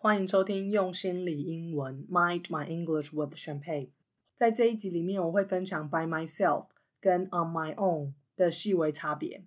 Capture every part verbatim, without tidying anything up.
欢迎收听用心理英文 Mind My English with Champagne。 在这一集里面我会分享 by myself 跟 on my own 的细微差别。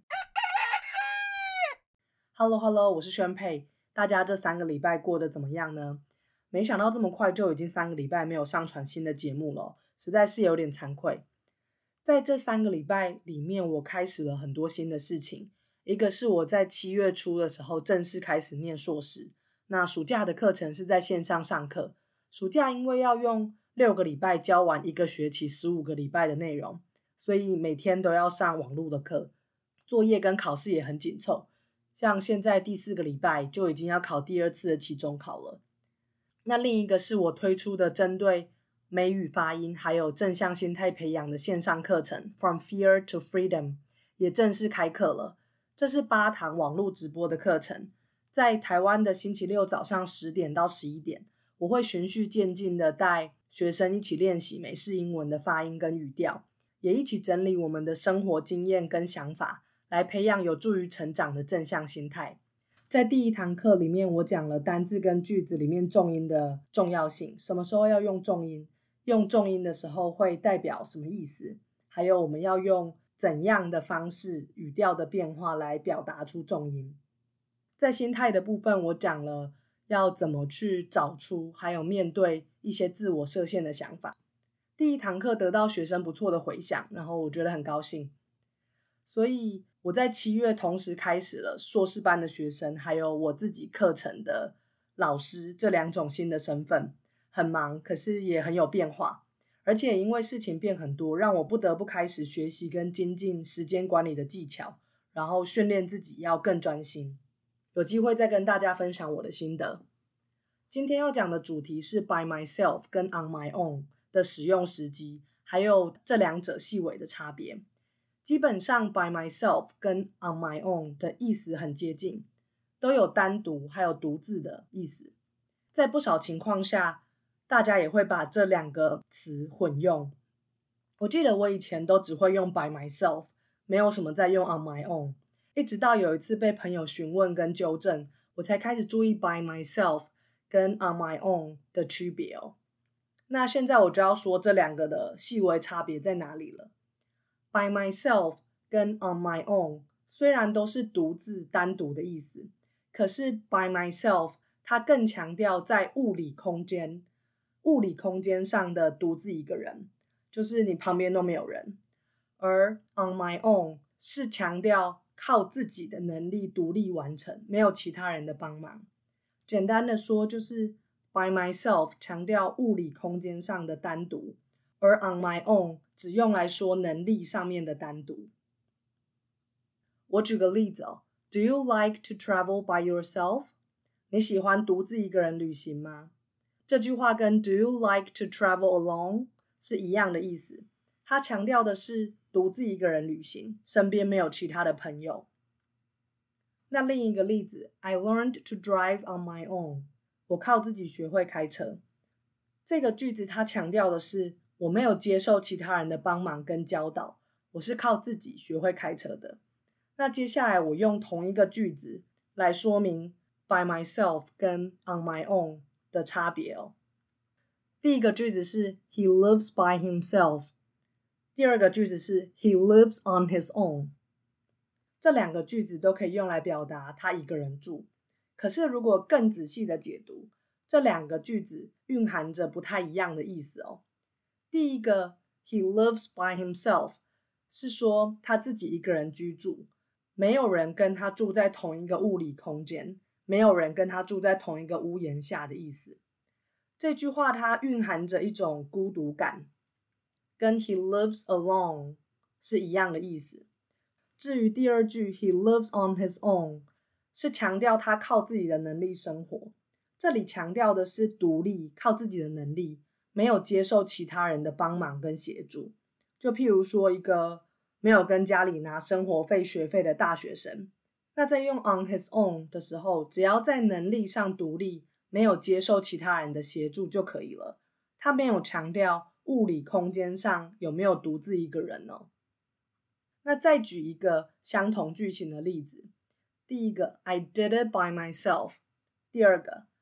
Hello Hello 我是Champagne，大家这三个礼拜过得怎么样呢？没想到这么快就已经三个礼拜没有上传新的节目了，实在是有点惭愧。在这三个礼拜里面我开始了很多新的事情，一个是我在七月初的时候正式开始念硕士，那暑假的课程是在线上上课。暑假因为要用六个礼拜教完一个学期十五个礼拜的内容，所以每天都要上网络的课，作业跟考试也很紧凑，像现在第四个礼拜就已经要考第二次的期中考了。那另一个是我推出的针对美语发音还有正向心态培养的线上课程 From Fear to Freedom 也正式开课了。这是八堂网络直播的课程，在台湾的星期六早上十点到十一点，我会循序渐进的带学生一起练习美式英文的发音跟语调，也一起整理我们的生活经验跟想法，来培养有助于成长的正向心态。在第一堂课里面，我讲了单字跟句子里面重音的重要性，什么时候要用重音，用重音的时候会代表什么意思，还有我们要用怎样的方式语调的变化来表达出重音。在心态的部分，我讲了要怎么去找出还有面对一些自我设限的想法。第一堂课得到学生不错的回响，然后我觉得很高兴，所以我在七月同时开始了硕士班的学生还有我自己课程的老师这两种新的身份，很忙，可是也很有变化，而且因为事情变很多，让我不得不开始学习跟精进时间管理的技巧，然后训练自己要更专心。有机会再跟大家分享我的心得。今天要讲的主题是 by myself 跟 on my own 的使用时机，还有这两者细微的差别。基本上 by myself 跟 on my own 的意思很接近，都有单独还有独自的意思。在不少情况下，大家也会把这两个词混用。我记得我以前都只会用 by myself， 没有什么在用 on my own，一直到有一次被朋友询问跟纠正，我才开始注意 by myself 跟 on my own 的区别哦。那现在我就要说这两个的细微差别在哪里了。by myself 跟 on my own 虽然都是独自单独的意思，可是 by myself 它更强调在物理空间物理空间上的独自一个人，就是你旁边都没有人。而 on my own 是强调靠自己的能力独立完成，没有其他人的帮忙。简单的说，就是 by myself 强调物理空间上的单独，而 on my own 只用来说能力上面的单独。我举个例子哦 Do you like to travel by yourself? 你喜欢独自一个人旅行吗？这句话跟 Do you like to travel alone? 是一样的意思，它强调的是独自一个人旅行，身边没有其他的朋友。那另一个例子 I learned to drive on my own， 我靠自己学会开车。这个句子它强调的是我没有接受其他人的帮忙跟教导，我是靠自己学会开车的。那接下来我用同一个句子来说明 by myself 跟 on my own 的差别哦。第一个句子是 He lives by himself， 第二个句子是 He lives on his own。 这两个句子都可以用来表达他一个人住，可是如果更仔细的解读，这两个句子蕴含着不太一样的意思哦。第一个 He lives by himself 是说他自己一个人居住，没有人跟他住在同一个物理空间，没有人跟他住在同一个屋檐下的意思。这句话它蕴含着一种孤独感，跟 He lives alone 是一样的意思。至于第二句 He lives on his own 是强调他靠自己的能力生活，这里强调的是独立，靠自己的能力，没有接受其他人的帮忙跟协助。就譬如说一个没有跟家里拿生活费学费的大学生，那在用 on his own 的时候，只要在能力上独立，没有接受其他人的协助就可以了，他没有强调物理空间上有没有独自一个人哦。那再举一个相同句型的例子，第一个 I did it by myself， 第二个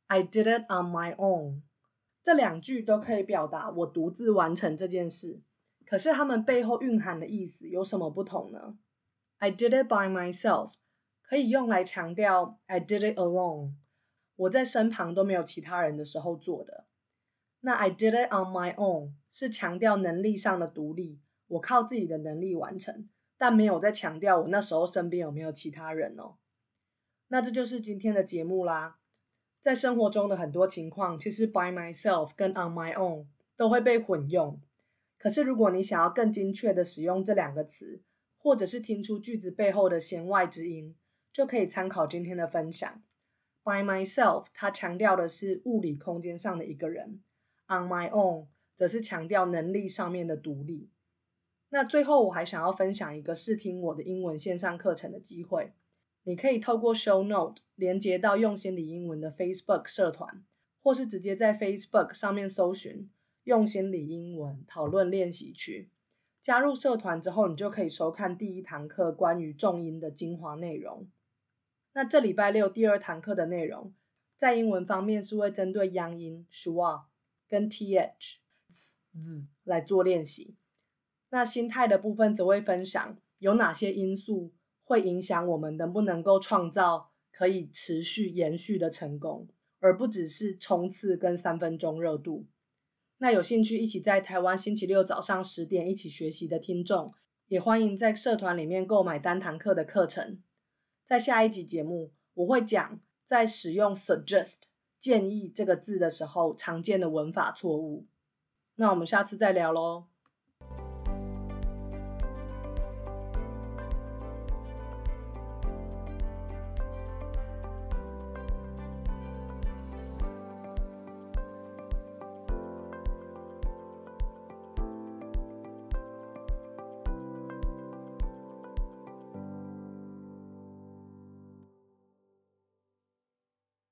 I did it on my own。 这两句都可以表达我独自完成这件事，可是它们背后蕴含的意思有什么不同呢？ I did it by myself 可以用来强调 I did it alone， 我在身旁都没有其他人的时候做的。那 I did it on my own 是强调能力上的独立，我靠自己的能力完成，但没有在强调我那时候身边有没有其他人哦。那这就是今天的节目啦。在生活中的很多情况，其实 by myself 跟 on my own 都会被混用。可是如果你想要更精确的使用这两个词，或者是听出句子背后的弦外之音，就可以参考今天的分享。By myself 它强调的是物理空间上的一个人， on my own 则是强调能力上面的独立。那最后我还想要分享一个试听我的英文线上课程的机会，你可以透过 show note 连接到用心理英文的 Facebook 社团，或是直接在 Facebook 上面搜寻用心理英文讨论练习区。加入社团之后，你就可以收看第一堂课关于重音的精华内容。那这礼拜六第二堂课的内容，在英文方面是会针对央音 schwa 跟 th z 来做练习。那心态的部分则会分享有哪些因素会影响我们能不能够创造可以持续延续的成功，而不只是冲刺跟三分钟热度。那有兴趣一起在台湾星期六早上十点一起学习的听众，也欢迎在社团里面购买单堂课的课程。在下一集节目，我会讲在使用 suggest 建议这个字的时候常见的文法错误。那我们下次再聊咯。